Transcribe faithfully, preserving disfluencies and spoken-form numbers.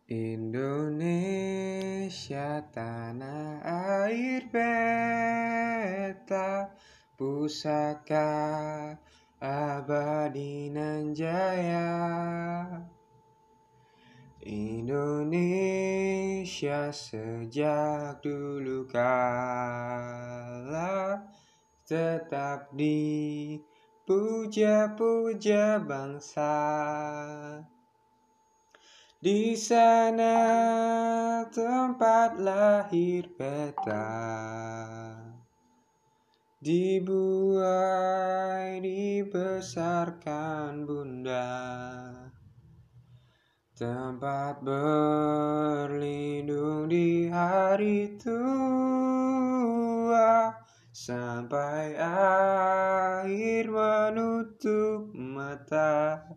Indonesia tanah air beta, pusaka abadi nan jaya. Indonesia sejak dulu kala tetap dipuja-puja bangsa. Di sana tempat lahir beta, dibuai dibesarkan bunda, tempat berlindung di hari tua, sampai akhir menutup mata.